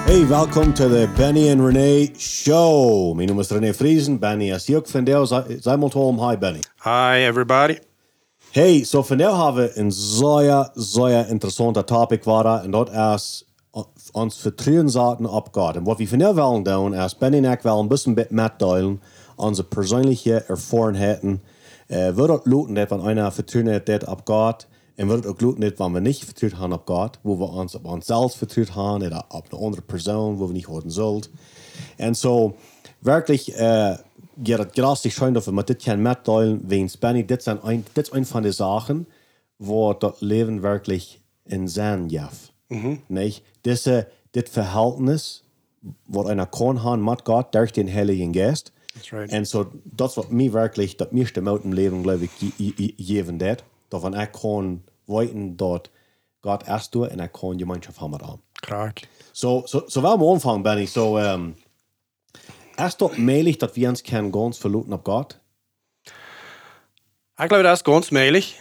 Hey, welcome to the Benny and Renee Show. Mijn naam is René Friesen. Benny is hier ook vandaag. Zij moet hi, Benny. Hi, everybody. Hey, so vandaag hebben we een zeer interessante topic waar en dat is ons vertrouwen zaten op God. En wat we vandaag willen doen is, Benny en ik willen een beetje metdelen onze persoonlijke ervaringen. Wil dat lukken dat we einer vertrouwen heeft op God. En wil het ook lukken dat wanneer we niet vertrouwd hebben op God, wo we ons op onszelf vertrouwd hebben, oder op een andere persoon, wo we niet horen zullen. En zo, wirklich, ja, het grassig schön, dass wir mit dit können mitteilen, wegen Benny, dit ist ein von den Sachen, wo das Leben wirklich in Sinn gibt. Nicht? Dit Verhältnis, wo einer kann haben mit Gott, durch den Heiligen Geist. That's right. Und so, das was mir wirklich, das meiste Mal im Leben, glaube ich, geben wird, dass wenn ich kann weiten, dort Gott erst durch und ich kann Gemeinschaft haben mit ihm. Krak. So wollen wir anfangen, Benny. So, ist das möglich, dass wir uns ganz verlassen auf Gott? Ich glaube, das ist ganz möglich.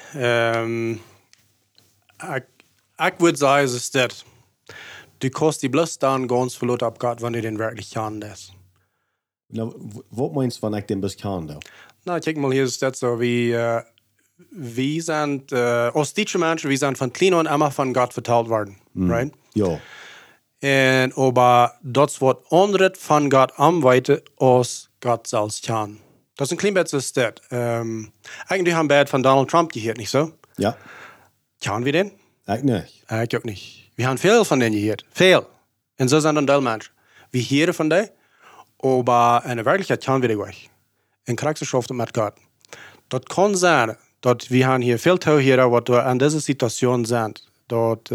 Ich würde sagen, es ist das. Du kannst die bloß dann ganz verlassen auf Gott, wenn du den wirklich kannst. Nou, wat meinst du, wenn ich den bis kann? Na, kijk mal, hier ist das so, wir sind, als deutsche Menschen, wir sind von klein und immer von Gott verteilt worden, right? Ja. En aber das wird anderes von Gott anweiten, als Gott selbst kann. Das ist ein klein bisschen das. Eigentlich haben wir von Donald Trump gehört, nicht so? Ja. Kann wir den? Ich nicht. Ich auch nicht. Wir haben viel von denen gehört. Viel. Und so sind dann die Menschen. Wir hören von denen, aber in der Wirklichkeit kann wir die euch. In Kriegsgeschäften mit Gott. Das kann sein, dass wir haben hier viel Tauhörer, was in dieser Situation sind. Dat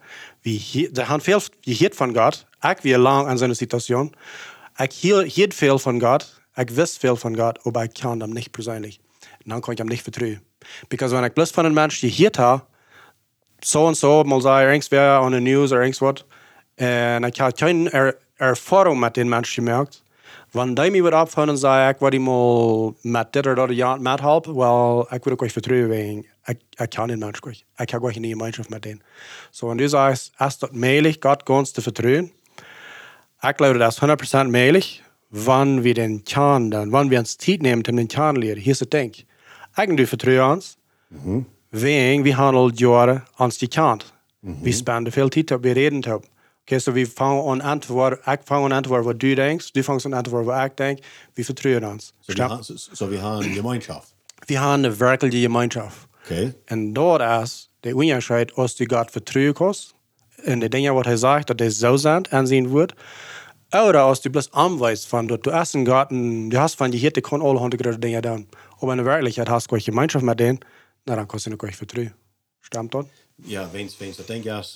ze gaan veel gehoord van God. Ik weer lang aan zo'n situatie. Ik hield veel van God. Ik wist veel van God, maar ik kan hem niet persoonlijk. En dan kan ik hem niet vertrouwen. Because wanneer ik plus van een mens gehoord heb, zo en zo, mal zei er weer aan de nieuws of ergens wat, en ik had geen ervaring met den mens gemaakt. Wanneer die me wordt opgevallen, zei ik, wat ik mal met dit of dat jaar met helpen, wel, ik wil ook euch vertrouwen. Ik kan den Mensch nicht. Ich habe eine Gemeinschaft mit denen. So, und du sagst, ist das möglich, Gott ganz zu vertrauen? Ich glaube, das ist 100% möglich, wenn wir den Kern dann, wenn wir uns Zeit nehmen, um den Kern zu lernen. Hier ist das Ding. Eigentlich vertrauen uns, wegen wir haben all Jahre uns gekannt. Wir spenden viel Zeit, wir reden darüber. Okay, so wir fangen an ich fange an antworten, was du denkst, du fängst an antworten, was ich denke, wir vertrauen uns. So wir haben eine Gemeinschaft. Wir haben eine wirkliche Gemeinschaft. Okay. En dat is de onderscheid als du God vertrouwen kannst. En de dingen wat hij zegt, dat hij zo zijn aanzien wordt. Oder als du bloß aanwijst van dat du erst een God en du hast van je hier, die kan alle 100 dingen doen. Aber in der Wirklichkeit hast du Gemeinschaft mit denen, na dann kannst du nicht vertrauen. Stimmt das? Ja, wenn's das Ding ist,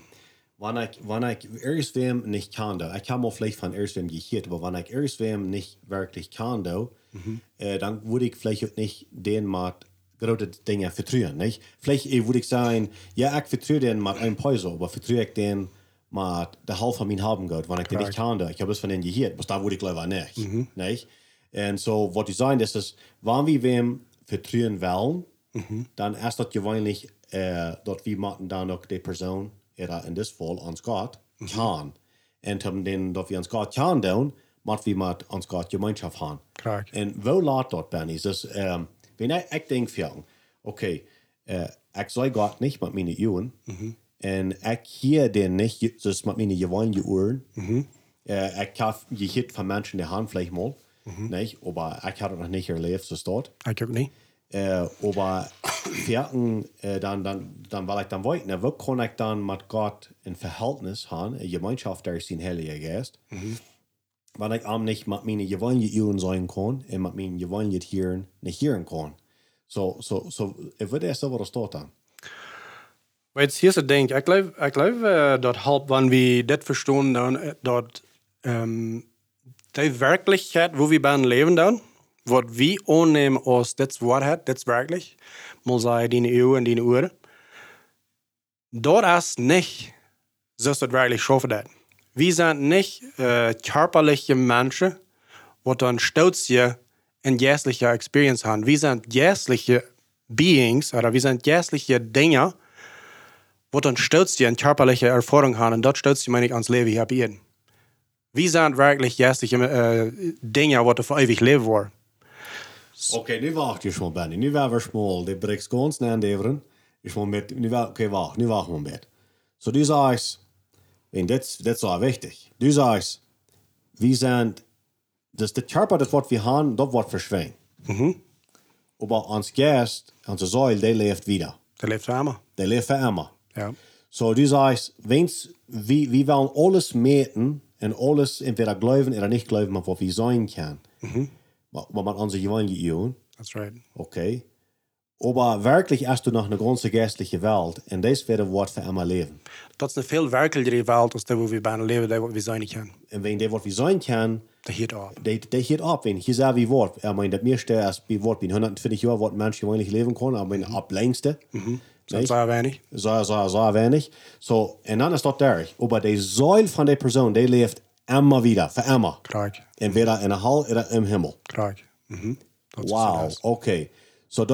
wenn ich irgendwem nicht kann, ich habe mal vielleicht von irgendwem gehört, aber wenn ich irgendwem nicht wirklich kann, dann würde ich vielleicht auch nicht den mal große Dinge vertrauen, nicht? Vielleicht würde ich sagen, ja, ich vertraue den mit einem Peso, aber vertraue ich den mit der Hälfte von meinem Haben Gott, wenn ich den nicht kann, ich habe es von denen gehört, aber da würde ich glaube nicht, nicht? Und so, was ich sagen, das ist, wenn wir wem vertrauen wollen, dann ist das gewöhnlich, dass wir machen dann auch die Person, oder in diesem Fall uns Gott, kann. Und dann, dass wir uns Gott kann tun, müssen wir mit uns Gott Gemeinschaft haben. Klar. Und wo lädt das, Benny? Das wenn ich denke, okay, ich soll Gott nicht mit meinen Uhren, und ich hier den nicht, das mit meinen gewöhnlichen Uhren, ich habe gehört von Menschen, die haben vielleicht mal, nicht, aber ich habe noch nicht erlebt, so dort. Ich auch nicht. Aber dann weil ich dann wollte, wo kann ich dann mit Gott ein Verhältnis haben, eine Gemeinschaft, der ist ein Heiliger Geist, wenn ich nicht mit meinen gewöhnlichen Uhren sein kann und mit meinen gewöhnlichen Tieren nicht hören kann. So, ich würde erst aber das dort an. Weil jetzt hier ist das Ding, ich glaube, das helpt, wenn wir das verstehen, dann, dass die Wirklichkeit, wo wir beim Leben dann, was wir annehmen als das Wahrheit, das wirklich, mal sagen, deine Ehe und deine Uhr, das ist nicht, so ist das wirklich schaffen das. Wir sind nicht körperliche Menschen, die dann stolz hier eine geistliche Experience haben. Wir sind geistliche Beings, oder wir sind geistliche Dinge, die dann stolz hier eine körperliche Erfahrung haben. Und dort stolz meine ich ans Leben hier bei ihnen. Wie sind wirklich geistliche Dinge, die für ewig leben wollen? Okay, nu wacht je schon, Benny. Nu werden wir schmal. Die brengt ganz naar deveren. Ich mal mit, okay, wacht. Nu wacht man mit. So, du sagst, en dit is wel wichtig. Du sagst, wir sind, das der Körper, das was wir haben, das wird verschwinden. Aber uns Geist, unsere Seele, die lebt wieder. Der lebt für immer. Die lebt für immer. Ja. So, du sagst, wir wollen alles meten und alles entweder glauben oder nicht glauben, was wir sein können. Was man unsere Evangelien. That's right. Okay. Aber wirklich erst du nach einer ganzen geistlichen Welt und das wird ein Wort für immer leben. Dat is een veel werkelijkere wereld als dat waar we bijna leven, dat we zijn niet kunnen. Und wenn der Wort wie sein kann, Dat hield op. der geht ab. Wenn ich sage, wie Wort, ich meine, das meiste ist wie Wort, wie 120 Jahre, was Menschen eigentlich leben können, aber in ab längste. Dat is heel weinig. Sehr wenig. So, und dann ist das der. Aber die Säule von der Person, die lebt immer wieder, für immer. Kijk. Entweder in der Hall oder im Himmel. Kijk. Dat is Wow, zo. okay. So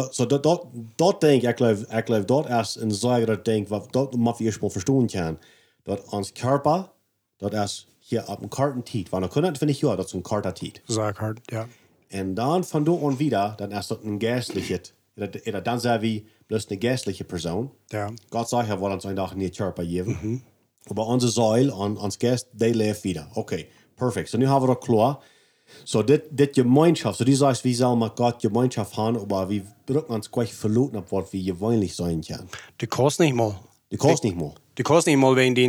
dat denk ik geloof dat is een zaak dat denk wat dat mag je eerst mal verstehen kann. Dat ons Körper, dat is hier op een karten tiet. Want dan kunnen vind ik ja, dat is een karta tiet. Zeg hard, ja. En dan van door en wieder, dan is dat een geestliche, dan zijn we plus een geestliche persoon. Ja. Gott sagt ja, wat ons een dag niet Körper geven. Maar onze Säule, ons Geist, die leeft wieder. Okay, perfect. So nu hebben we dat klaar. So, dit Gemeinschaft, so du sagst, wie soll man Gott Gemeinschaft haben, aber wir drücken uns gleich verloren ab, was wir gewöhnlich sein können. Du kannst nicht mal. Du kannst nicht mal. Du kannst nicht mal, wenn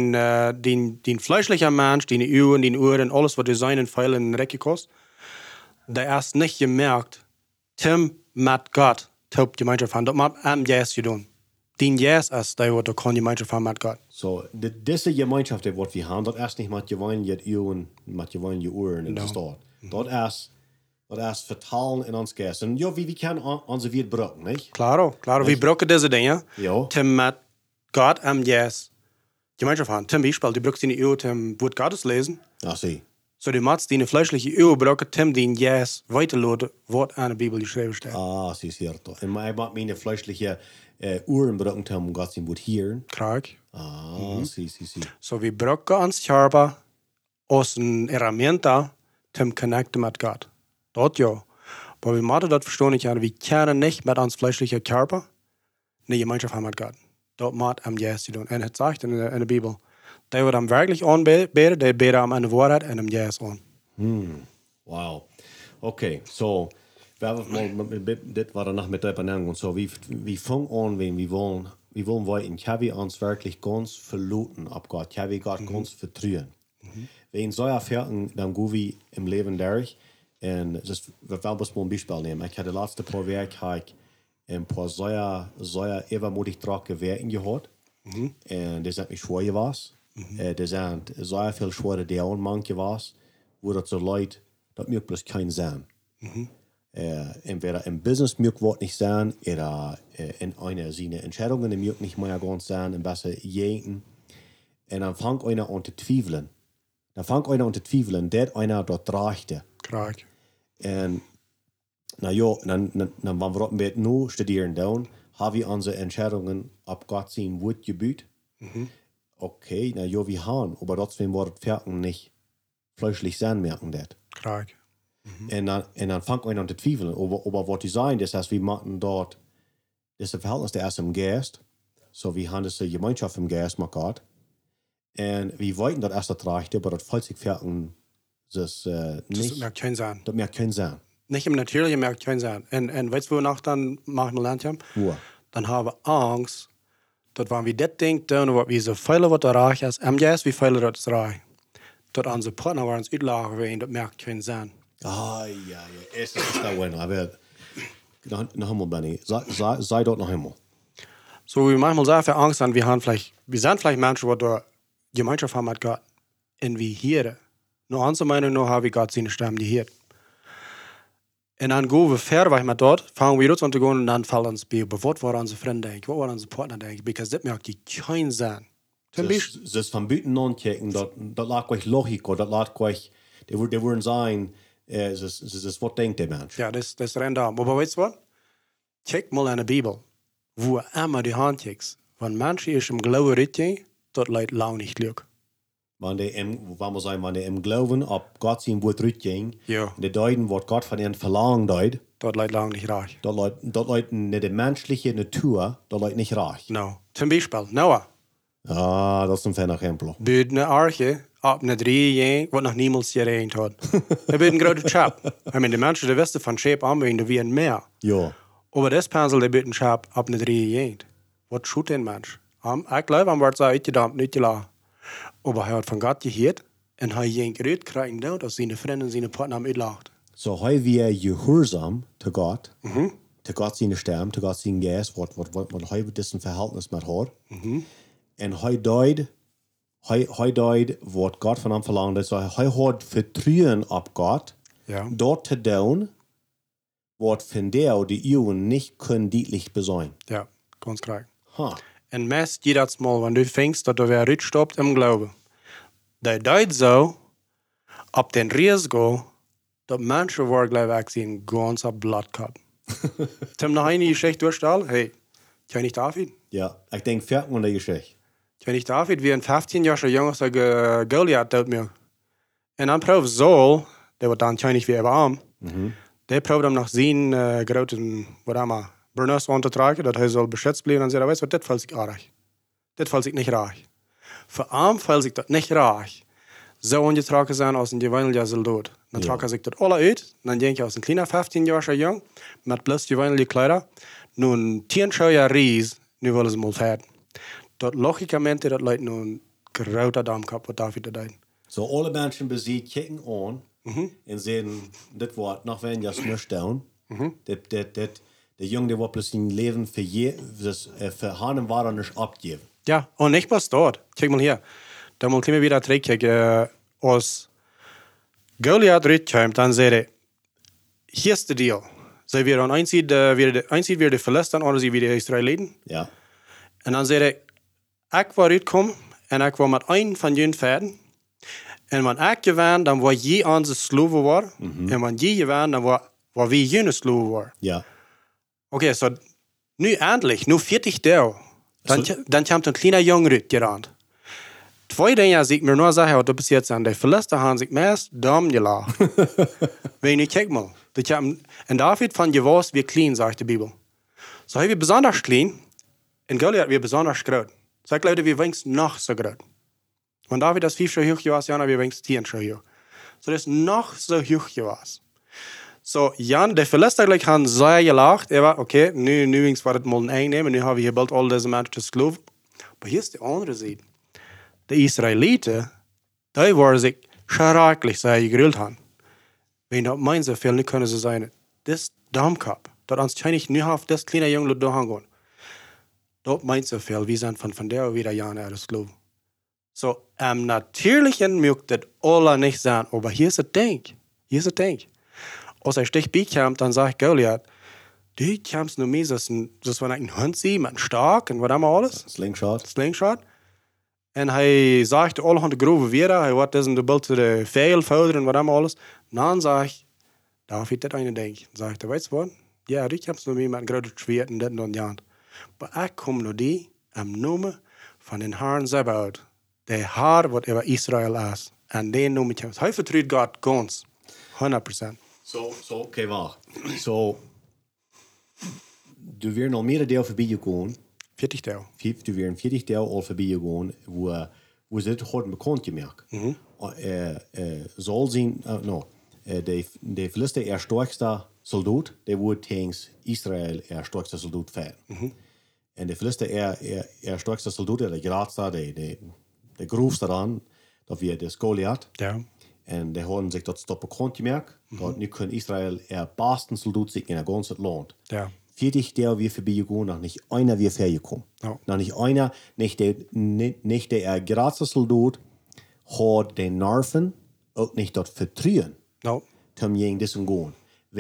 den fleischlichen Mensch, deine Uhren, den Ohren, alles, was du sein und feilen in den Recke kostet, der erst nicht gemerkt, Tim mit Gott, die Gemeinschaft haben, das macht am Yes getan. Den Yes ist, der du kann Gemeinschaft haben mit Gott. So, diese Gemeinschaft, die wir haben, das ist nicht mit gewöhnlichen Uhren, mit gewöhnlichen Ohren in der Stadt. Das ist vertalen in uns Geist. Und ja, wie können unsere Welt brauchen, nicht? Claro, wir brauchen diese Dinge. Ja. Tim mit Gott am Yes Gemeinschaft haben. Zum Beispiel, du brauchst deine Uhr, Tim Wort Gottes lesen. Ach, sie. So, du machst deine fleischliche Uhr, brauchen Tim den Yes weiterladen, was an der Bibel geschrieben steht. Ah, sie, cierto. Und ich mag meine fleischliche Uhren brauchen, um Gott sein Wort hören. Krank. Ah, sie. So, wir brauchen uns Körper als eine Herramienta, zum connecten mit Gott. Dort ja. Aber wir müssen das verstehen, wir können nicht mit uns fleischlichen Körper eine Gemeinschaft haben mit Gott. Das muss am Yes tun. Und es sagt in der Bibel, der wird am wirklich anbeten, der betet am eine Wahrheit und am Yes an. Wow. Okay, so, wir haben das war danach mit der Benennung. So, wie fangen an, wenn wir wollen weiter, kann wir uns wirklich ganz verlassen ab Gott, kann wir Gott ganz vertrauen. Wenn so Erfahrungen, dann gehen wir im Leben durch. Und wir wollen mal ein Beispiel nehmen. Ich hatte die letzten paar Wochen ein paar sehr übermutig trage Werken gehört. Und das sind nicht schwer gewesen. Das sind sehr viel schwere Dinge manche gewesen, wo das so Leute, das mögt bloß kein sein. Entweder im Business mögt was nicht sein, oder in einer seiner Entscheidungen mögt nicht mehr ganz sein, im besser jeden. Und dann fängt einer an zu zweifeln. Das einer dort drachte. Krank. Und na ja, dann wenn wir mit nur studieren dann, haben wir unsere Entscheidungen ab Gott sein Wort gebüht. Okay, na ja, wir haben, aber trotzdem wird das nicht fleischlich sein, merken das. Krank. Und dann fängt einer an zu zweifeln, aber was die sagen, das heißt, wir machen dort, das ist ein Verhältnis der erst im Geist, so wir haben diese Gemeinschaft im Geist mit Gott. Und wir wollten das erst erreichen, aber das falls ich fertig das nicht. Das merkt kein Sein. Das merkt kein Sein. Nicht im Natürlichen merkt kein Sein. Und weißt du, wonach dann machen wir lernt haben? Wo? Dann haben wir Angst, dass wenn wir das Ding tun, was wir so viele, was da reich ist, am Yes, wie viele das reich. Dass unsere Partner uns utlachen wollen, das merkt kein Sein. Ah, ja. Es ist da bueno. Aber noch einmal, Benny. Sei dort noch einmal. So, wir manchmal sehr viel Angst haben, wir sind vielleicht Menschen, die da Gemeinschaft haben mit Gott. Und wir hören. Nur unsere Meinung nach haben wir Gott seine Stimme, die hört. Und dann gehen wir fair mit dort, fangen wir dort an zu gehen und dann fallen uns bei, was war unsere Freunde denken, was war unsere Partner denken, weil das merkt die kein Sinn. Zum Beispiel. Das von Büten anchecken, das lag euch Logik, das lag euch, die würden sagen, das ist, was denkt der Mensch. Ja, das rennt da. Aber weißt du was? Check mal in der Bibel, wo immer die Hand checkst, wenn Menschen ist im Glauben richtig, dort leid lau nicht Glück. Wanneer die im Glauben op Gott zijn woord uitging, Ja. de deuten wat Gott von ihnen verlangt deut, Dat leidt lang nicht reich. dat leidt niet de menschliche Natur, dat leidt niet reich. Nou, zum Beispiel, Noah. Ah, dat is een fijn exempel. Buurt eine Arche ab eine 3 Jahre, was noch niemals gereint hat. Er wird ein großer Schab. Ich meine, die Menschen, die wissen von Schab anwenden, wie ein Meer. Ja. Aber das Pensel, der wird ein Schab ab eine 3 Jahre. Was tut den Mensch? Ich glaube, am wird so uitgedampt, nicht gelassen. Aber er hat von Gott gehört und er hat ihn gerührt kriegen, dass seine Freunde und seine Partner haben uitgelacht. So hij weer gehoorzaam te God, te God zijn stem, te God zijn geest, wat hij dit een verhältnis met haar. En hij deed wat God van hem verlangde. So hij had vertrouwen op God, Ja. dort te doen, wat van die Eeuwen niet kunnen deutlich bezien. Ja, ganz korrekt. Ha. Und meist jedes Mal, wenn du fängst, dass du wer rückstoppt im Glauben, der deut so, ab den Risiko, dass Menschen war, glaube ich, ein ganzer Blattkapp. Tim noch eine Geschichte durchstellen? Hey, kenn ich David? Ja, ik denk verder aan de geschichte. Kenn ich David, wie ein 15-jähriger Junge so Goliath dort mir. Und dann probt Saul, der war dann kenn ich wie er war, der probt ihm nach seinen großen, was immer, Burners untertragen, dass er soll beschützt bleiben und sagt, weißt du, das fällt sich reich. Das fällt sich nicht reich. Für ihn fällt sich das nicht reich. So ungetragen sein als ein gewöhnlicher Soldat. Dann trage sich das alle uit. Dann denke ich aus ein kleiner 15-jähriger Jung mit bloß gewöhnliche Kleider. Nun 10 Schauer Ries, nu wollen sie mal fährt. Dat logikamente, dat leidt nun groter Damm gehabt, was David da deed. So alle Menschen besiegt, kicken an und sehen, das Wort noch wenn ja nicht down. Der Junge, der war plötzlich ein Leben für Hahn war er nicht abgeben. Ja, und nicht was dort. Kijk mal hier. Da mal können wir wieder terugkijken. Als Goliath terugkomt, dann sagt er, hier ist der Deal. Zij weer aan einzig weer de Philistijn, anders weer de Israëlieten. Ja. En dan zei hij, ik wil uitkomen en ik wil met een van jullie verden. En wanneer ik gewaan, dan was je onze sloven war. En wanneer je gewaan, dan was wie jullie sloven war. Ja. Okay, so nu endlich, nu 40 Jahre, dann kommt ein kleiner Junge gerannt. 2 Dinge, die ich mir nur sage, was passiert sind. Die Philister haben sich meist dumm gelacht. Wenn ich kijk mal. Und David von gewusst, wie klein, sagt die Bibel. So haben wir besonders klein, und Goliath wir besonders groß. Sagt Leute, wir wenigstens noch so groß. Wenn David das 5 so hoch war, Jan, wir wenigstens 10 so hoch. So das noch so hoch war. So, Jan, der Philister gleich haben sehr gelacht. Er war, okay, nu wenigstens war das mal ein Einnehmen, nu haben wir hier bald all diese Menschen zu glauben. Aber hier ist die andere Seite. Die Israeliten, die waren sich schrecklich sehr gegrillt haben. Wenn das meinen so viel, nicht können sie sein. Das Dammkap, das uns wahrscheinlich nur auf das kleine Junge da hängen. Das meint so viel, wir sind von der wieder Jahre das glauben. So, am Natürlichen mögt das alle nicht sein, aber hier ist das Ding. Hier ist das Ding. Als er Stich bekommt, dann sagt Goliath, du kommst nur mehr, das war ein Hund sie, mit einem Stark und was haben wir alles? Slingshot. Und er sagt, alle haben die Grube wieder, er hat das in der Bild zu der Fehlfelder und was haben wir alles. Und dann sagt ich, darf ich das eine denken? Sagt er, weißt du was? Ja, du kommst nur mehr mit einem großen Schwert und das und das. Aber ich komme nur die am Namen von den Herrn Zebaoth, der Herr, was über Israel ist. Und den Namen kommst. Er vertraut Gott ganz, 100%. So, okay, wacht. So, du wirst nog meer deel voorbij gegaan. 40 Jahre. Du wirst 40 deel al voorbij gegaan, wo ze het goed bekend gemaakt. Zal zijn, de Philister sterkste soldaat, die wordt tegen Israël sterkste soldaat vechten. En de Philister sterkste soldaat, de grootste, de grootste dan, dat weer de Goliath. Ja. En die hadden zich dat stoppen bekend gemaakt. Dat nu kan Israël besten soldaat zich in het ganze land. Ja. 40 der wir vorbeigegangen, noch nicht einer wir hergekommen. Ja. Noch nicht einer, nicht der große Soldat hat den Nerven auch nicht dort vertrauen. No. Zum gegen das gehen.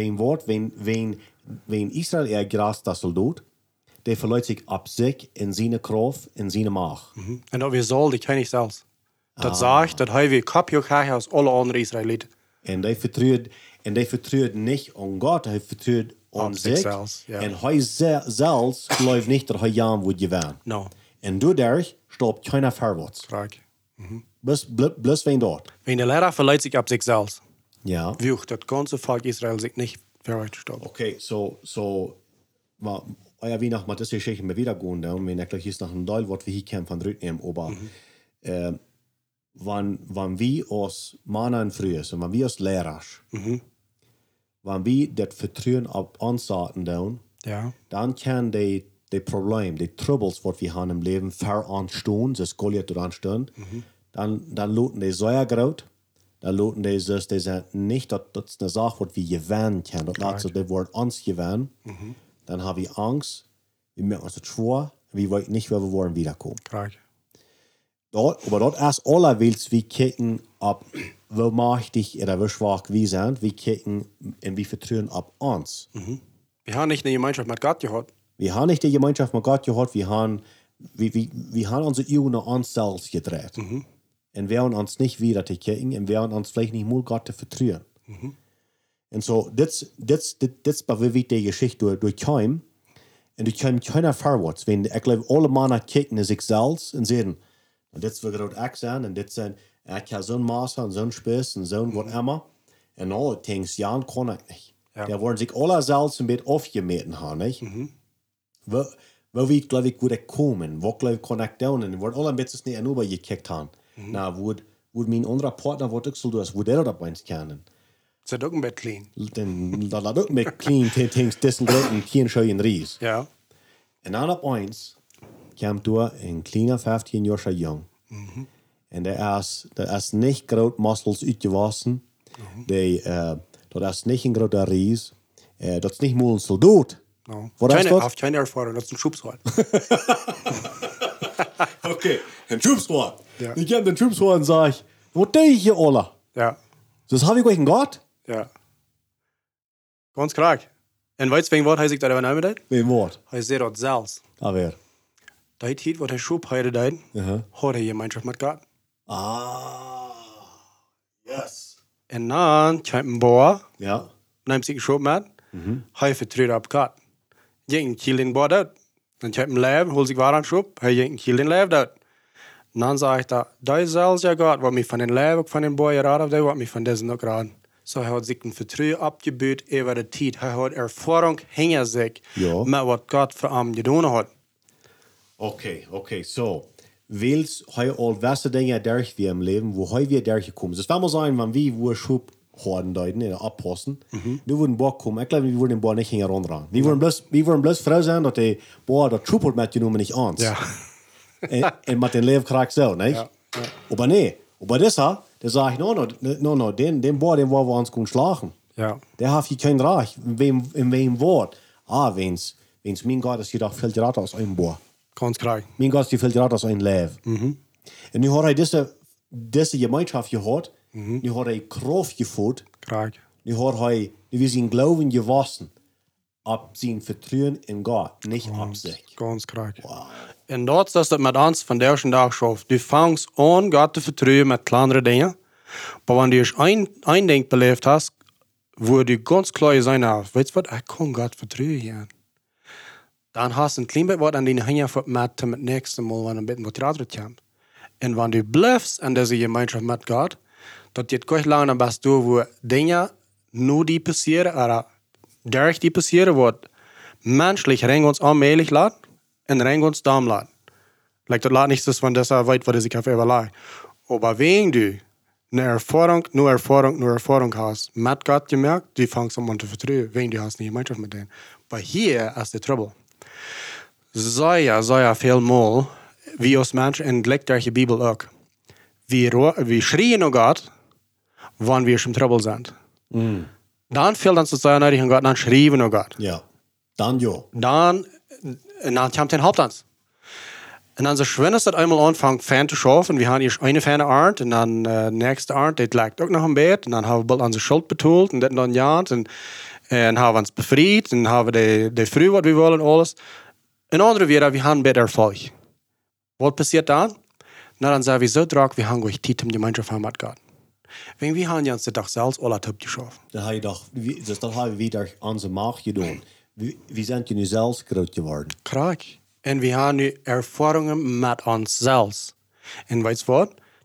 Wenn Israel große Soldat, der verliert sich ab sich in seine Kraft, in seine Macht. Und dat we zal, die ken ik zelfs. Dat zegt, dat hij weer kapje krijgt als alle andere Israëlieten. En die vertrouwt nicht an Gott, hij vertrouwt an sich. Zelfs, ja. En hij zelfs gelooft nicht, dat hij Jan wordt gewinnen. No. En dadurch stoppt keiner vorwärts. Vraag. Bloß wegen dort. Wenn der Lehrer verleiht sich ab sich selbst, Ja. wie auch das ganze Volk Israel sich nicht verrichtet. Okay, maar ja, wie nach mal das Geschichte mal wieder gehen, dann, wenn ich gleich jetzt nach einem Teil, was wir hier kämen von Rütnehmen, aber wann wir als Männer früher sind, wenn wir als Lehrer, wenn wir das Vertrauen auf uns sahen, Ja. dann kann die Probleme, die Troubles, was wir haben im Leben, veranstehen, das Goliath anstehen, dann loten die sehr groß, dann loten die sich, die sagen nicht, dass das eine Sache, was wir gewinnen können, das lässt sich das Wort uns gewinnen, dann haben wir Angst, wir merken uns das schwer, wir wollen nicht, wer wir wollen, wiederkommen. Klar. Aber dort erst allerwelts, wir kicken ab, wie mächtig oder wie schwach wir sind, wir kicken und wir vertrauen ab uns. Wir haben nicht eine Gemeinschaft mit Gott gehabt. Wir haben nicht die Gemeinschaft mit Gott gehabt, wir haben unsere Augen nach uns selbst gedreht. Und wir haben uns nicht wieder zu kicken und wir haben uns vielleicht nicht mal Gott zu vertrauen. Und so, das bewegt die Geschichte durchkommen. Und durchkommen keiner vorwärts. Wenn, ich glaube, alle Männer kicken in sich selbst und sagen, und das wird gerade ich sein, und das sind, ich habe so ein Maß und so ein Spiss und so ein was immer. Und alle denken, ja, kann ich nicht. Ja. Die wollen sich alle selbst ein bisschen aufgemeten haben, nicht? Wo wir, glaube ich, gut kommen, wo, glaube ich, kann ich tun, und die wollen alle ein bisschen nicht rübergekickt haben. Na, wo mein anderer Partner, was ich so tue, wo der das eins kennen. Das ist auch ein Bett clean. Dann da laat ook met clean things dessen großen Kienscheu Ries. Ja. En dan op eens kwam door een kleiner 15 Jahre jong. En der is niet groot muscles uitgewassen. Dat is niet een grote Ries. Dat is niet moeilijk een soldaat. No. Wat is dat? Auf keine Erfahrung, das ist ein Schubsrad. Okay, een troepswaard. Ja. Ik heb den troepswaard en zeg, wat doe je hier alle? Ja. Das habe ich euch Gott? Ja. Ganz klar. Und weißt du, wegen was heißt ich da übernehmen das? Wem Wort? Heißt der dort selbst. Aber. Die Zeit, wo der Schub heute da, hat er Gemeinschaft mit Gott. Ah. Yes. Und dann kommt ein Bohr, Ja. nimmt sich Schub mit, er vertritt ab Gott. Jeden Kiel den Bohr dort. Dann kommt ein Leib, holt sich Waren Schub, er jeden Kiel den Leib dort. Und dann sage ich da ist selbst ja Gott, was mich von den Leib, von den Bohr geraten hat, der hat mich von diesen noch geraten. So, er hat sich ein Vertrauen abgebüht über die Zeit. Er hat Erfahrung hinter sich, Ja. mit was Gott für ihn getan hat. Okay, so. Wils hij al beste dingen durch wir im Leben, wo hij wir durchgekommen. Das war mal sein, wenn wir wo Schub haben deuten, oder abpassen, du würden Boah kommen. Ich glaube, wir würden den Boah nicht hinterher. Wir würden bloß froh sein, dass der Boah der Schub hat mitgenommen, nicht uns. Ja. Und mit dem Leben kriegt so, nicht? Ja. Aber nee, aber das da sage ich, no, den Boah, den wollen wir uns gut schlagen. Ja. Der hat hier kein Recht. In wem Wort? Wenn's mein Gott ist jedoch viel gerade aus einem Boah. Ganz klar. Mein Gott, die viel gerade aus einem Leben. Und nu hat er diese Gemeinschaft gehört, nu hat er Kraft geführt, Klar. nu hat er, wir sind Glauben gewassen, ab sein Vertrauen in Gott, nicht ab sich. Ganz klar. Wow. Und dort ist das mit uns von der ersten Tag schafft. Du fängst an, Gott zu vertrauen mit kleineren Dingen. Aber wenn du ein Ding belebt hast, wo du ganz klar sein hast, weißt du was, ich kann Gott vertrauen. Dann hast du ein klein bisschen was an deine Hände mit dem nächsten Mal, wenn ein bisschen Motivation kommt. Und wenn du bleibst an dieser Gemeinschaft mit Gott, das geht gleich lange, dann bist du, wo Dinge nur die passieren, oder durch die passieren, was menschlich rein uns allmählich lässt und rein uns darum lässt. Like, das lässt nicht so, wenn das weit, was sich auf überlegt. Aber wenn du eine Erfahrung hast, mit Gott gemerkt, du fängst an zu vertrauen, wenn du hast eine Gemeinschaft mit denen. Aber hier ist der Trouble. Sehr viel Mal, wie uns Menschen entdeckt durch die Bibel auch. Wir schreien nach Gott, wenn wir schon Trouble sind. Dann fehlt uns das sehr nötig an Gott, dann schreien wir nach Gott. Ja, dann ja. Dann kommt der Hauptanz. Und dann so schön, dass das einmal anfängt, Fan zu schaffen. Wir haben erst eine Fan Arndt und dann nächste Arndt, die lag auch noch im Bett. Und dann haben wir bald unsere Schuld betont und das dann ja. Und haben wir uns befreit und haben wir die Früh, was wir wollen, alles. Und andere wieder, wir haben besser Erfolg. Was passiert dann? Na, dann sagen wir so drauf, wir haben gleich Zeit im Gemeinschaft mit Gott. Wenn wir haben uns das doch selbst alle Typ geschaffen. Das haben wir durch unsere Macht getan. Wir sind ja nu selbst groß geworden. Krank. Und wir haben nu Erfahrungen mit uns selbst. Und weißt du was?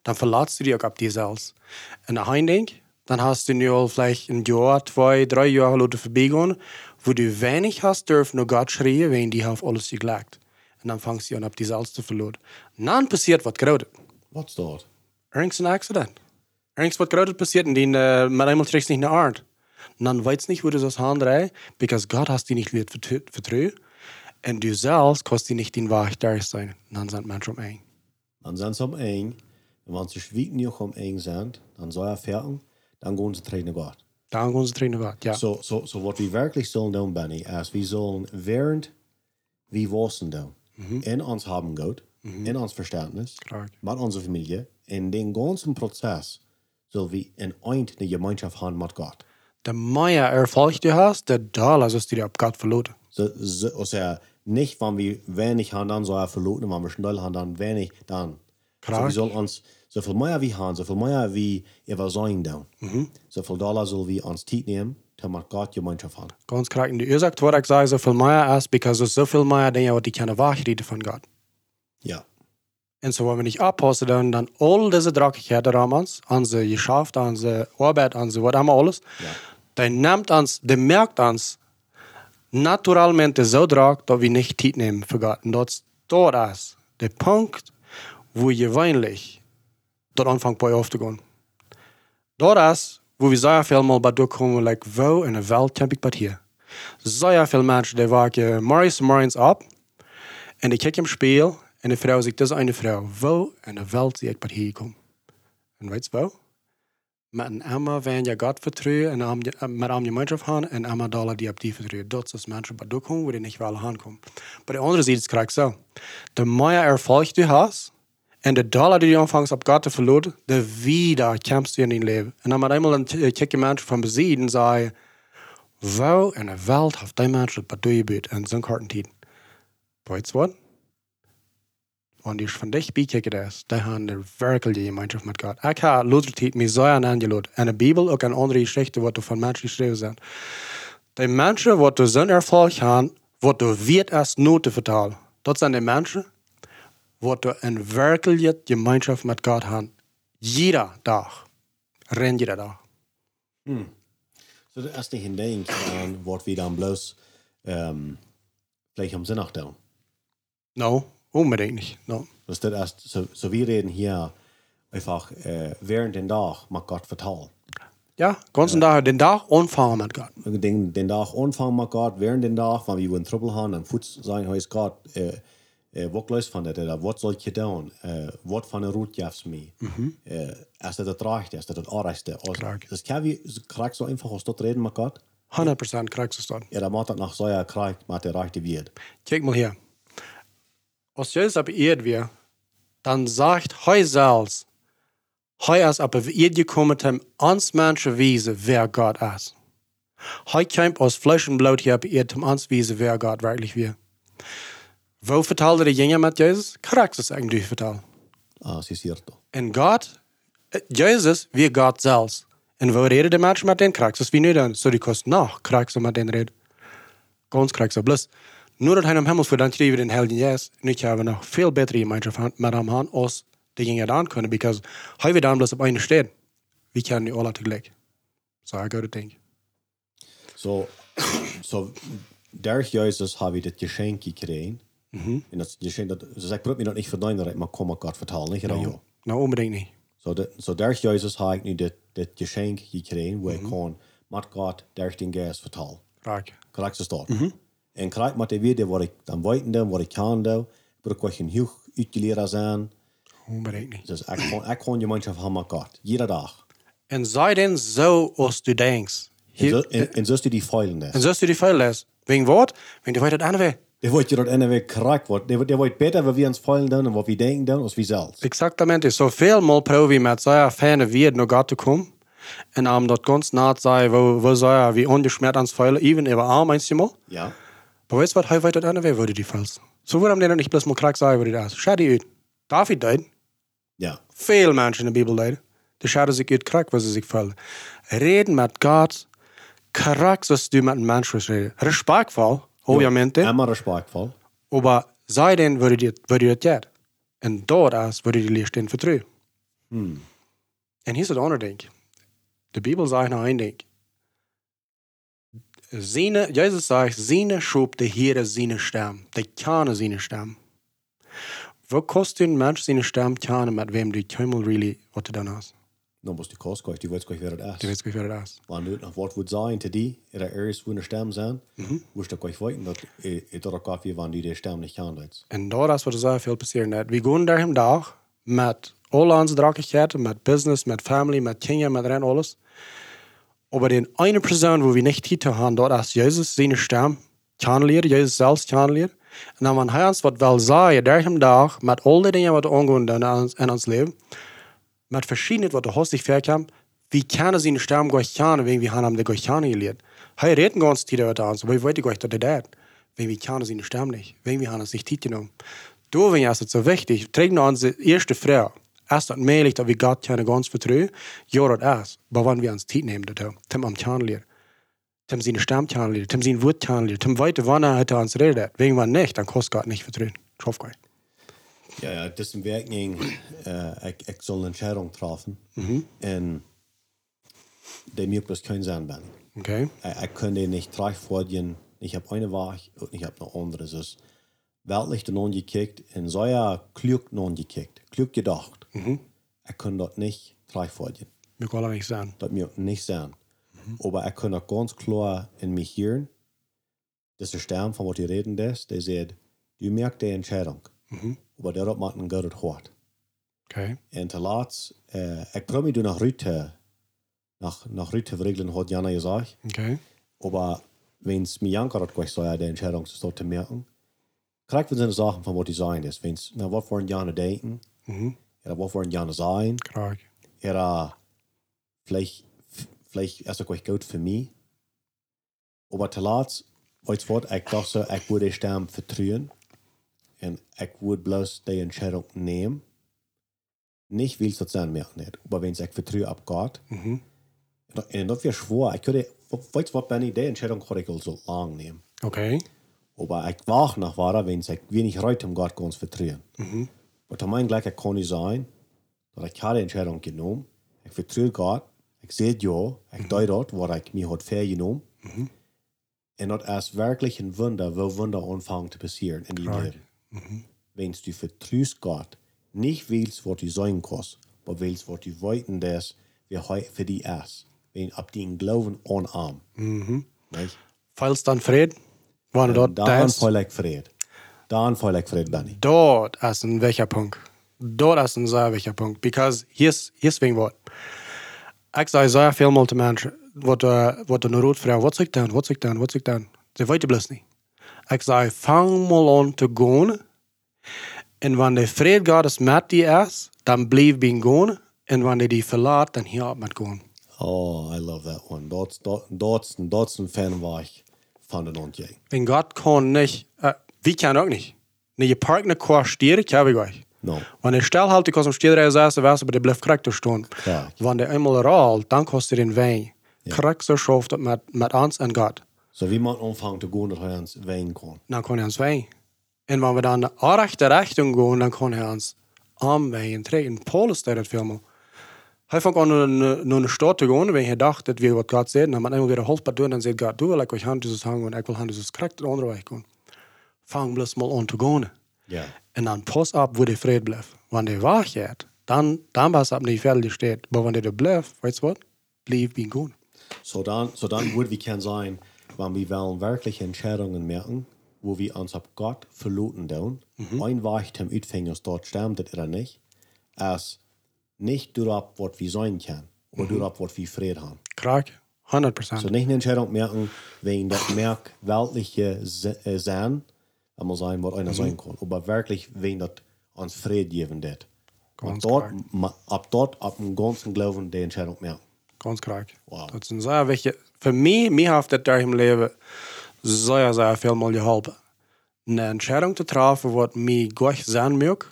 dann verlässt du dich auch ab dir selbst. Und ein Ding, dann hast du nur vielleicht ein Jahr, 2, 3 Jahre Leute vorbeigehen, wo du wenig hast dürfen, nur Gott schreien, wenn die auf alles gelegt. Und dann fängst du an, ab dir selbst zu verlieren. Und dann passiert was Großes. Was dort? Irgend ein Accident. Irgendwas was Großes passiert und mit einmal trägst du nicht eine Art. Und dann weißt du nicht, wo du das handrei, because Gott hast dir nicht vertraut. Und du selbst kannst dir nicht den Wahrheit da sein. Und dann sind Menschen eng. Dann sind sie eng. Und wenn sie schwiegen nicht eng sind, dann soll er fertig, dann gehen sie trainen Gott. Dann gehen sie trainen Gott, ja. So was wir wirklich sollen tun, Benny, ist, wir sollen während wir wissen tun, in uns haben Gott, in uns Verständnis, mit unserer Familie, in den ganzen Prozess, sollen wir in eine Gemeinschaft haben mit Gott. Der mehr Erfolg du hast, der Dollar sollst du dir ab Gott verloren. Also nicht, wenn wir wenig haben, dann soll er verloren, wenn wir schnell haben, dann wenig, dann. So wir sollen uns, so viel mehr wie haben, so viel mehr wie wir sein tun. So viel Dollar sollen wir uns Zeit nehmen, damit Gott Gemeinschaft haben. Ganz korrekt. Und du sagst, was ich sage, so viel mehr ist, because es so viel mehr Dinge, die keine Wahrheit von Gott. Ja. Und so, wenn wir nicht abpassen, dann all diese Dreckigkeiten damals, unsere Geschäft, unsere Arbeit, unsere was immer alles, dann nimmt uns, der merkt uns, naturalmente so dreck, dass wir nicht Zeit nehmen für Gott. Und das dort ist der Punkt, wo gewöhnlich dort anfängt bei aufzugehen. Dort ist, wo wir sehr viel mal bei durchkommen, like, wo in der Welt kämpfe ich bei hier. Sehr viele Menschen, die wachen morgens ab und die kicken im Spiel und die Frau sagt, das ist eine Frau. Wo in der Welt sehe ich bei hier kommen? Und weißt du wo? Met een emmer wenn je Gott vertrouwen en met een Gemeinschaft haben en emmer Dollar die op die vertrouwen. Dat is mensen bij durchkommen, wo die nicht wel aankomen. Bei der anderen Seite ist es so. Der mehr Erfolg du hast und der Dollar, die du anfängst ab Gott zu verlieren, der wieder kämpfst du in dein Leben. Und dann mit einmal ein kicken Menschen von besiegen und sagen, wo in der Welt hat die Menschen bei dir gebeut in so kurzen Zeit? Weißt du was? Wenn die von dich bekicken ist, die haben eine wirkliche Gemeinschaft mit Gott. Ich habe Luther-Zeit mir sehr angelassen. In der Bibel auch eine andere Geschichte, die von Menschen geschrieben sind. Die Menschen, die so einen Erfolg haben, die wird erst Noten vertalen. Das sind die Menschen, die eine wirkliche Gemeinschaft mit Gott haben. Jeder Tag. Rennt jeder Tag. So, das ist nicht ein Ding, was wir dann bloß vielleicht am Sinn nachdenken. No. Unbedingt nicht. No. Dus dat is, so wir reden hier einfach während den Tag mit Gott vertrauen. Ja, ganzen Tag, den Tag anfangen mit Gott. Den Tag anfangen mit Gott, während den Tag, wenn wir in Trouble haben, dann Fuß sagen, heißt Gott, was läuft von dir, was soll ich tun, was von der Route gibst mir, ist das recht, ist das Anrechte. Das kann wir, kriegst so einfach aus dort reden mit Gott? 100% kriegst du es dort. Ja, dann macht das nach so einer Krieg, mit der rechte wird. Kijk mal hier. Als Jesus op Erde weer, dann sagt hij zelfs, hij is op Erde gekommen, om ons mensen wijzen wer Gott ist. Hij kämpft aus Fleisch und Blut hier op Erde, um uns wijzen wer Gott wirklich wir. Wo vertelde die Jünger mit Jesus? Korrekt ist eigentlich verteld. Ah, sie ist doch. En Gott, Jesus, wie Gott selbst. En wo reden die Menschen mit denen? Korrekt ist wie nu dan. So die kost noch, korrekt mit denen reden. Ganz korrekt. Bloß, nur dat hij am Himmel voor dan schreef in Helden Jes, en ik heb nog veel betere Gemeinschaft met hem aan als de Jünger dan kunnen, because hij wil dan bloß op een steen. We kennen die alle tegelijk. So I go to think. So durch Jesus habe ich das Geschenk gekriegt. Und das Geschenk, dus ik probeer me dat niet verdienen, dat ik maar kom met Gott vertalen, niet? No, no, unbedingt nicht. So durch Jesus habe ich nu das Geschenk gekriegt, wo ich kann mit Gott durch den Geist vertalen. Korrekt ist das. En krijg met de weer wat ik dan weten doe, wat ik kan doen. Ik wil een heel uitgeleerd zijn. Unbedingt nicht. Dus ik kan je Gemeinschaft haben mit Gott. Jeder Tag. En sei denn so, als du denkst. En zo du die feilen das. En zo du die Feilen lässt. Wegen was? Wegen du weißt das andere Weg. Der wollte ja dort eine Weg korrekt werden. Der wollte besser, wie wir uns feilen tun und was wir denken tun, als wir selbst. Exatamente. So viel mal probieren mit so einer Ferne wird nach Gott zu kommen. Und dort ganz nah sein, wo so wie ungeschmert ans Feilen, even über Arm einmal. Ja. Aber weißt du was, heute das andere würde die falsch. So würde man nicht bloß mal krank sagen, würde das. Schau die uit. David deed. Ja. Viele Menschen in der Bibel deed. Die schauen sich uit krank, weil sie sich fallen. Reden mit Gott, krank, dass du mit einem Menschen reden. Respektvoll, obviamente. Immer respektvoll. Aber sei denn, würde das jetzt. Und dort ist, würde die Licht stehen vertrauen. En hier is het andere ding. De Bibel zegt nou één ding. Jezus zegt, zijn schub de Heere zijn stem. De kennen zijn stem. Wat kost een mens zijn stem kennen met wem du helemaal really wat du dan hast? Dan moest die kost kwijt, die weet kwijt weer het is. Du weet wie dat is. Wanneer het nog wat wordt zijn te die, er ergens voor een stem zijn, moest je kwijt weten dat het ook af je wanneer die stem niet kan. En daar is wat er zo veel passeren net. We gaan daar hem dag met al onze drakkigheden, met business, met family, met kinderen, met ren alles. Aber den eine Person, wo wir nicht hier haben, dort ist Jesus seine Stimme kennenlernen, Jesus selbst kennenlernen. Und dann, wenn er uns was will sagen, der hem Tag, mit all den Dingen, was angehen in uns Leben, mit verschiedenen, was du hast dich verkämpft, wie können seine Stimme Gott kennen, wenn wir haben Gott kennengelernt. Er redet ganz tief über uns, aber ich weiß nicht, dass er das wenn wir kennen seine Stimme nicht, wenn wir haben es nicht tief genommen. Da, wenn es so wichtig, trägt unsere erste Frau. Ist das möglich, dass wir Gott kennen ganz vertrauen? Ja, das ist. Aber wenn wir uns Zeit nehmen, Tim am kennenlernen, Tim seine Stimme kennenlernen, Tim sein Wort kennenlernen, Tim weiter, wann er uns redet. Wenn wir nicht, dann kostet Gott nicht vertrauen. Ich hoffe nicht. Ja, das ist ein Werking, ich soll eine Entscheidung treffen. Und der mir bloß kein Sinn bin. Okay. Ich kann den nicht gleich vorgehen. Ich habe eine Wahl und ich habe noch andere. Es ist weltlich den angekickt und so ja klug angekickt. Klug gedacht. Ich kann dort nicht gleich vorgehen. Wir können nicht sagen. Das mir nicht sein. Aber ich kann auch ganz klar in mich hören, dass der Stern, von was die reden, der sagt, du merkst die Entscheidung. Aber dort macht ein Gott hart. Okay. Und zuletzt, ich probiere mich nach Rüte, nach Rüte regeln, hat Jana gesagt. Okay. Aber wenn es mir Janka hat gesagt, so die Entscheidung zu merken, kriegt man so Sachen, von was die sein ist. Wenn es, na, was wollen Jana denken? Oder was wollen Jana sein? Klar. Oder vielleicht ist das auch gut für mich. Aber zuletzt, als Wort, ich dachte so, ich würde die Stimme vertrauen. Und ich würde bloß die Entscheidung nehmen. Nicht, weil es das sein merkt nicht. Aber wenn ich vertraue ab Gott. Und das wäre schwer. Ich könnte, weißt du was, Benny, die Entscheidung kann ich so lang nehmen. Okay. Aber ich wach nach weiter, wenn ich wenig heute um Gott ganz vertrauen. Aber zu meinem gleich kann ich sein, dass ich habe die Entscheidung genommen. Ich vertraue Gott. Ich sehe ja, ich deute dort, was ich mir heute vergenommen. Und das ist wirklich ein Wunder, wo Wunder anfangen zu passieren in die Leben. Wenn du vertraust Gott, nicht willst, was du sein kannst, aber willst, was du wollten, dass wir heute für die ist. Wenn ab den Glauben anarm. Falls dann Fried, wann dort dann ist. voll ich Fried. Dann voll ich Fried, Benny. Dort ist ein welcher Punkt. Dort ist ein sehr welcher Punkt. Because hier ist wegen was. Ich sage sehr viel mal zu Menschen, wat eine Rotfrau, was soll ich dann, was soll ich dann, was soll ich dann? Sie weiten bloß nicht. Ich sage, fang mal an zu gehen. Und wenn der Fried Gottes mit dir ist, dann bleib ihn gehen. Und wenn der die verlässt, dann hier mit gehen. Oh, I love that one. Dort ein Fan war ich von den Hund. Wenn Gott kann nicht, wir können auch nicht. Wenn ihr parkt eine Kuh steht, kann ich euch. No. Wenn der Stellhalte kannst am Stehreis saß, weißt du, aber der bleibt korrekt stehen. Ja. Wenn der einmal rollt, dann kostet er den Wein. Korrekt so schafft mit uns und Gott. So wie man anfangen zu gehen, dass er uns weinen kann. Dann kann er uns Wein. Und wenn wir dann in die rechte Richtung gehen, dann kann er uns am Wein treten. Paulus steht das vielmal. Er fängt an, nur eine Stadt zu gehen, wenn er dachte, dass wir was Gott sehen. Dann hat man immer wieder Holz bei tun, dann sagt Gott, du will ich euch Hand dieses Hang und ich will Hand dieses korrekt den anderen Weg gehen. Fang bloß mal an zu gehen. Ja. Und dann pass ab, wo der Fried bleibt. Wenn der wach geht, dann was ab nicht fertig steht. Aber wenn der da bleibt, weißt du was? Bleib ihn gut. So dann würde wir kann sein, wenn wir wollen wirklich Entscheidungen merken, wo wir uns ab Gott verloten tun, ein Weg zum Utfängers dort stimmt oder nicht, als nicht darauf, was wir sein können, aber darauf, was wir Frieden haben. Krank, 100%. So nicht eine Entscheidung merken, wenn das merkt, weltliche sein, einmal sein, was einer sein kann, aber wirklich, wenn das uns Frieden geben wird. Ganz Ab dort, ab dem ganzen Glauben, die Entscheidung merken. Ganz krank. Wow. Das sind sehr wichtig. Für mich hat das da im Leben sehr viel mal geholfen. Eine Entscheidung zu treffen, was mir Gott sein mag.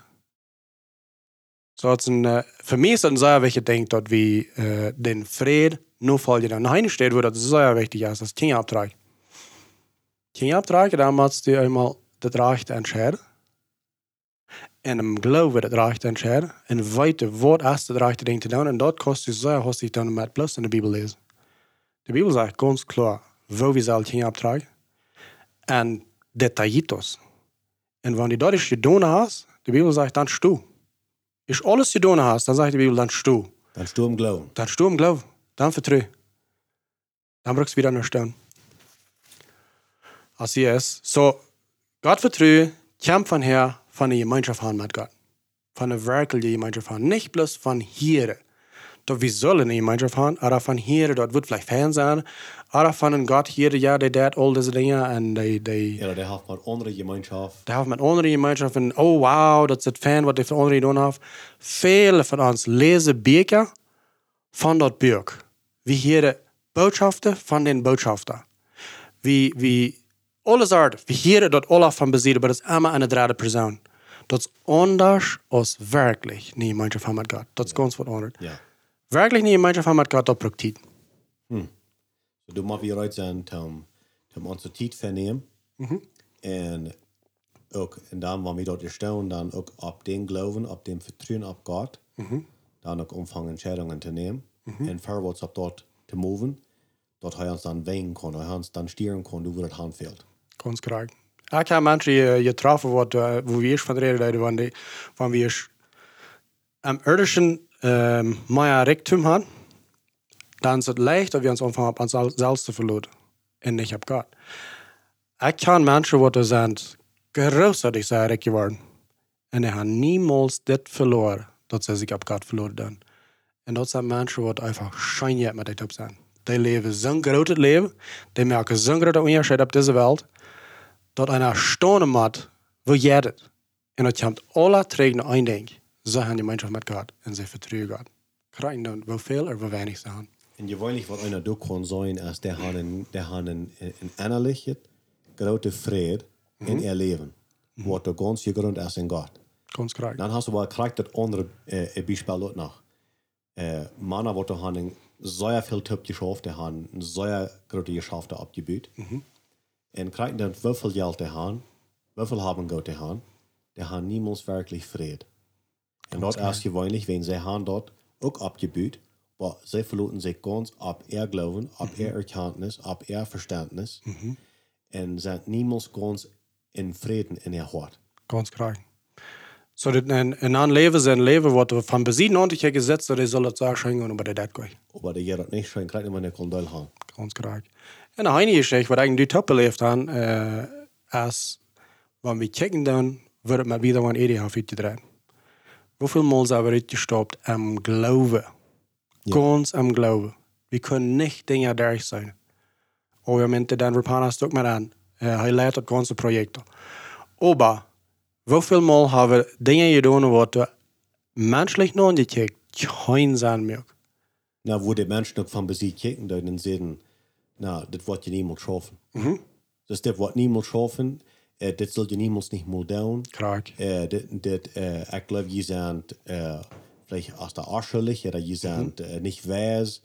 So, für mich ist das ein sehr wichtiges Ding, dass wir den Frieden nur folgen. Dann eine steht, wo das sehr wichtig ist, das Kinderabtrag. Kinderabtrag, da musst du einmal das Recht entscheiden. En hem geloven dat recht entscheiden. En weten wat is het rechte ding te doen. En dat kost je zo hastig dan met plus in de Bibel lezen. De Bibel zegt ganz klar, wo we zullen gaan opdragen. En detallitos. En wanneer dat is gedaan hast, de Bibel zegt dan stu. Is alles gedaan hast, dan zegt de Bibel dan stu. Dan stu im Glauben. Dan stu im Glauben. Dan vertrouw. Dan brukst du wieder naar steun. Als je is. So, God vertrouwen, komt van her, van de gemeenschap van met God. Van de werkelijke gemeenschap van. Niet bloß van hier. Dat we zullen een gemeenschap van, maar van hier, dat wordt vielleicht fijn zijn. Maar van een God hier, ja, die deed al deze dingen. En die Ja, die heeft met andere gemeenschap. Die heeft met andere gemeenschap. En oh wow, dat is het fijn wat die van anderen gedaan heeft. Vele van ons lezen boeken van dat boek. We horen boodschappen van den boodschapper. We alles uit. We horen dat alles van bezitten, maar dat is allemaal een derde persoon. Dat is anders als werkelijk een gemeenschap van met God. Dat is ganz wat anders. Ja. Werkelijk een gemeenschap van met God, dat praktiek. So, du moet weer uit zijn om onze tijd vernemen. En ook, en dan, wanneer we dat staan, dan ook op den geloven, op den vertrouwen op God. Dan ook omvangen entscheidungen te nemen. En voorwaarts op dat te moven. Dat hij ons dan wegen kan, hij ons dan sturen kan, hoe het handveld. Ganz correct. Ik heb mensen getroffen, wo we eerst van reden wanneer we eerst am irdischen meer Reichtum haben, dann ist es leicht, dass wir uns anfangen, op ons selbst zu verloren. Und nicht auf Gott. Ich kenne Menschen, die sind großartig sehr reich geworden. Und die haben niemals das verloren, dass sie sich auf Gott verloren haben. Und das sind Menschen, die einfach scheinbar mit dem zijn. Die leven zo'n groot leven, die maken zo'n grote onderscheid op deze wereld, dat einer staunen moet, wo jij het. En dat komt alle terug naar één ding. Ze hebben gemeenschap met God en ze vertrouwen God. Krijgen dan wel veel of wel weinig te hebben. En je weet niet wat einer ook kan zijn, als die hebben een innerlijke grote vrede in ihr leven. Wat de ganz gegrond is in God. Ganz correct. Dan hast du wel krijgt dat andere Beispiel ook nog. Mannen, die hebben sehr viel Typ geschafft, die haben sehr große Geschäfte abgebaut. Und kriegen dann wie viel Geld die haben, wie viel haben Gott die haben niemals wirklich Frieden. Und dort ist gewöhnlich, wenn sie haben dort auch abgebaut, aber sie verloren sich ganz ab ihr Glauben, ab ihr Erkenntnis, ab ihr Verständnis und sind niemals ganz in Frieden in ihr Hart. Ganz correct. So dat een leven zijn leven wordt van bezien aan je gezet, dat zal het zo schijnen, maar dat gaat. Aber die dat niet schijnt, krijgt man een kondol haben. Ganz correct. En een heilige geschichte, wat eigenlijk die top beleefd aan, is, wanneer we kijken dan, wordt het met wieder een eeuwigheid uitgedraaid. Hoeveel maal zijn we uitgestopt am geloven? Ja. Ganz am geloven. We kunnen niet dingen daar zijn. Obviamente, dan Rapana ook met aan. Hij leidt het ganze project. Aber, hoeveel maal hebben we dingen gedaan wat we menselijk nog niet geen zijn meer? Nou, wo die Menschen ook van bezit kijken, dan zeggen, nou, dit wordt je niemals schaffen. Dus dit wordt niemals schaffen, dit zul je niemals niet meer doen. Krak. Ik geloof, je zijn vielleicht als der Arschelig, oder je zijn nicht wijs.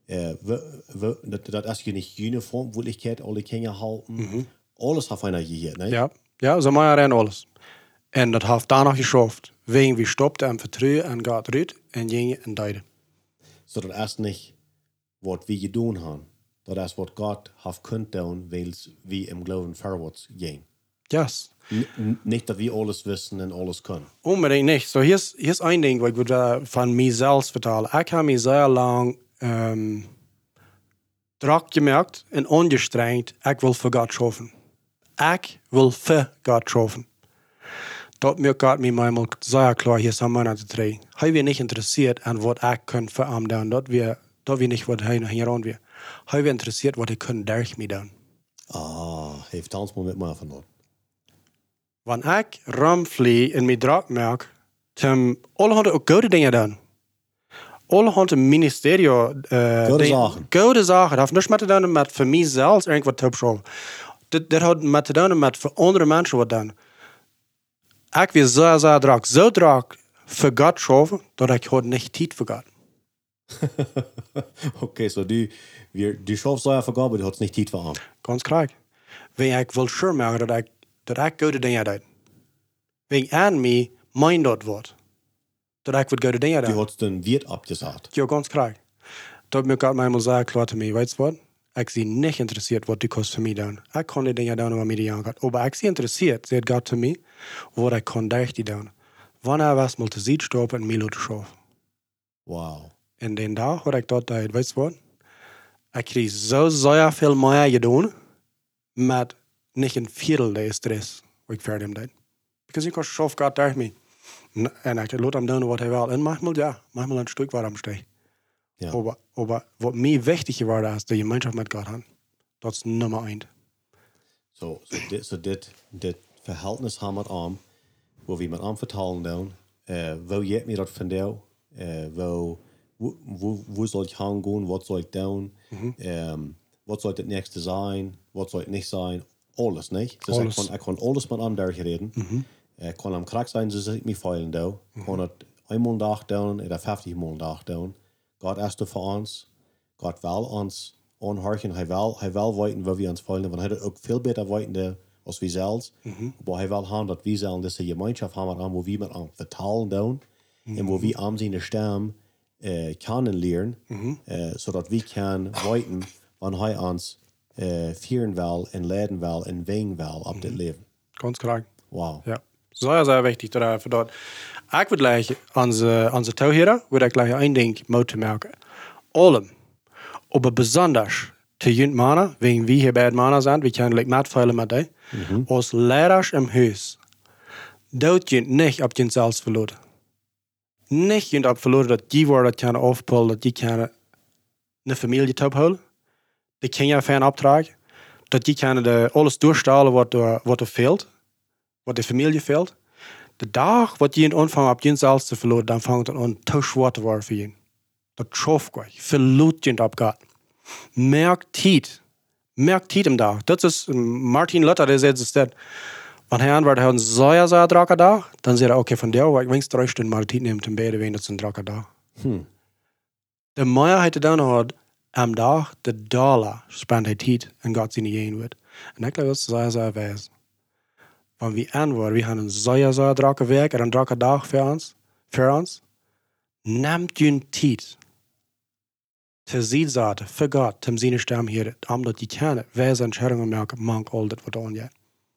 Dat is je niet uniform, Wirklichkeit, alle Kinder halten. Alles heeft einer gehört, ne? Ja, zo maar en alles. En dat heeft daarna geschafft. Wegen we stopten en vertrouwen en gaat eruit en gingen en deden. So, dat is niet wat we gedaan hebben. Dat is wat God heeft kunnen doen, weil we im Glauben vorwärts gehen. Yes. Nicht, dass wir alles wissen und alles können. Unbedingt nicht. So, hier ist ein Ding, was ich von mir selbst vertellen. Ich habe mich sehr lang Druck gemerkt und angestrengt, ich will für Gott schaffen. Ich will für Gott schaffen. Dat mir Gott mir manchmal sehr klar, hier sind wir nicht drei. Hij wir nicht interessiert an was ich kann für ihn tun. Dat wir nicht, was hij hier an wir. Hij wir interessiert, was ich kann durch mich tun. Heeft Hans mal mit mir von dort. Wanneer ik rumvlieg en mij druk merk, dan alle hadden ook goede dingen doen. Alle hadden een ministerie. Goede zaken. Goede zaken. Dat heeft niks met te doen met voor mijzelf irgendwas te opschrijven. Dat had met te doen met voor andere mensen wat doen. Ik wil zo druk voor God schaffen, dat ik had niet tijd voor God. Okay, so du schaffst so für Gott, aber du hast nicht Zeit für ihn. Ganz klar. Wenn ich will sure machen, dat ik goede dingen doe. Wegen aan mij mein dort wordt. Dat ik wat goede dingen Die doen. hat den Wirt abgesagt. Ja, ganz klar. Dat mir gerade manchmal sagen, klar zu mir, weißt du was? Ich bin nicht interessiert, was die kost für mich doen. Ich kann die Dinge doen, was mir die angeht. Aber ich bin interessiert, sagt Gott zu mir, was ich kann durch die doen. Wann was mal zu sehen stoppen und mir zu schaffen. Wow. En den dag had ik dat uit, weet je wat? Ik kreeg zo zeer veel meer gedaan met niet een viertel de stress wat ik verder deed. Because ik was schaf gaat daar mee. En ik laat hem doen wat hij wil. En manchmal een stuk waar hem steekt. Ja. Aber wat mij wichtig geworden is, de gemeenschap met God hebben. Dat is nummer 1. So dit verhältnis haben wir an, wo wir mit anvertrauen doen, wo jet mir das von dir, wo soll ich hingehen, was soll ich tun, was soll das nächste sein, was soll es nicht sein, alles, nicht? Dus Alles. ich kann alles mit anderen reden. Ich kann am Krieg sein, so ich mich feilen da. Ich kann es einmal am Tag tun, oder 50 Mal am Tag tun. Gott ist für uns, Gott will uns anhorchen, hij wil weten waar we ons feilen, want hij doet ook veel beter weten als we zelfs. Maar hij wil hebben dat we zelf deze gemeenschap hebben, waar we met aan vertalen doen, en waar we aan zijn stem kennenlernen, zodat we kunnen weten, wanneer hij ons vieren wil, en leiden wil, en wegen wil op dit leven. Ganz klar. Wow. Ja. Sehr wichtig für dort. Ich würde gleich onze touwheren, würde ich gleich ein Ding moeten merken. Allem. Aber besonders te junt mannen, wegen wie hier bij het mannen zijn, we kunnen like metvuilen met die, als leiders im huis. Dat junt niet op jezelf verloren. Niet junt op verloren dat die worden dat kunnen afpullen, dat die kunnen een familie ophouden. Die kunnen je een opdragen. Dat die kunnen alles doorstalen wat er fehlt. Wat de familie fehlt. De dag wat je in aanvangt op jezelf te verloren, dan vangt het aan te zwaar te worden voor je. Dat schafft gleich. Verlut je op God. Merk tijd im dag. Dat is Martin Luther, der zegt dat. Wanneer hij antwoordt, hij een zeer drukke dag, dan zegt hij, oké, van jou, ik wenst 3 Stunden mal tijd nemen te beden, wegen dat is een drukke dag. De meerheid dan had, am dag, de dollar, spendt hij tijd en God zijn niet wordt. En ik geloof dat is zeer wijs. Wanneer we antwoorden, we hebben een zeer drukke werk en een drukke dag voor ons. Neemt je tijd. Te zien zaten, voor God, te zijn stem hier, omdat je kennen, wijze entscheidungen merken, mank al dat wat aan je.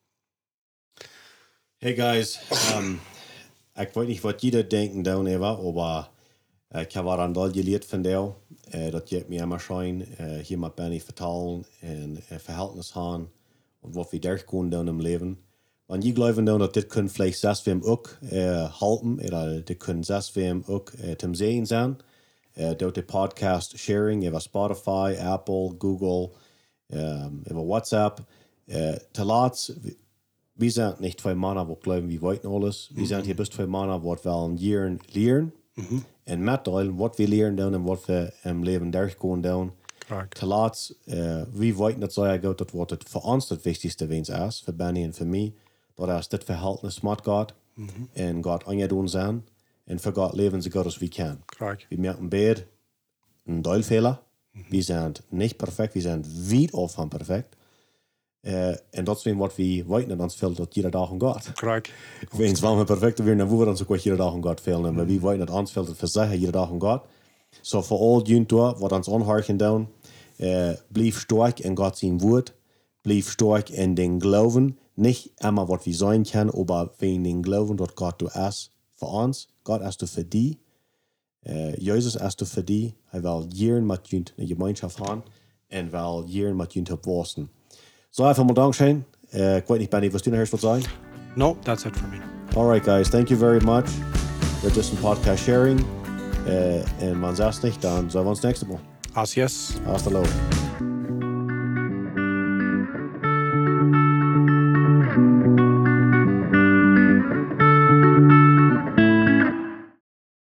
Hey guys, ik weet niet wat jullie denken down even, maar ik heb wat aan dat geleerd van jou, dat je mij immer schijn hier met Benny vertalen en verhältnis hebben, en wat we daar kunnen doen im leven. Want je gelooft dan dat dit kunnen vielleicht zelfs we hem ook halten, of dit kunnen zelfs we hem ook te zien zijn. Door de podcast sharing, over Spotify, Apple, Google, over WhatsApp. Te laat, we zijn niet 2 mannen wat geloven, we weten alles. We zijn hier best 2 mannen wat wel een jaar leren. En met deel wat we leren doen en wat we im leven daar kunnen doen. Te laat, we weten dat zo goed dat wat het voor ons het wichtigste wens is, voor Benny en voor mij. Dat is dit verhältnis met God en God aan je doen zijn. En voor God leven zo goed als we kunnen. We merken beide een deelfehler. We zijn niet perfect, we zijn weit af van perfect. En dat is wat we weten in ons veld dat iedere dag aan God. Wens wanneer we perfect zijn, dan worden we ook iedere dag aan God velen. Maar we weten dat ons veld het verzeggen iedere dag aan God. So voor al jullie wat ons onhargen doen, blijf sterk in God zijn woord. Blijf sterk in den geloven. Niet immer wat we zijn kunnen, maar wegen den geloven dat God doet is voor ons. God is er voor die. Jezus is er voor die. Hij wil jaren met jullie een gemeenschap hebben. En wil jaren met jullie opwassen. So even mal Dankeschön. Ik weet niet, Benny, was du noch erst was sagen? No, that's it for me. Alright, guys. Thank you very much. We're just in podcast sharing. En man sagt nicht, dann sehen wir uns nächstes Mal. Yes. Hasta luego.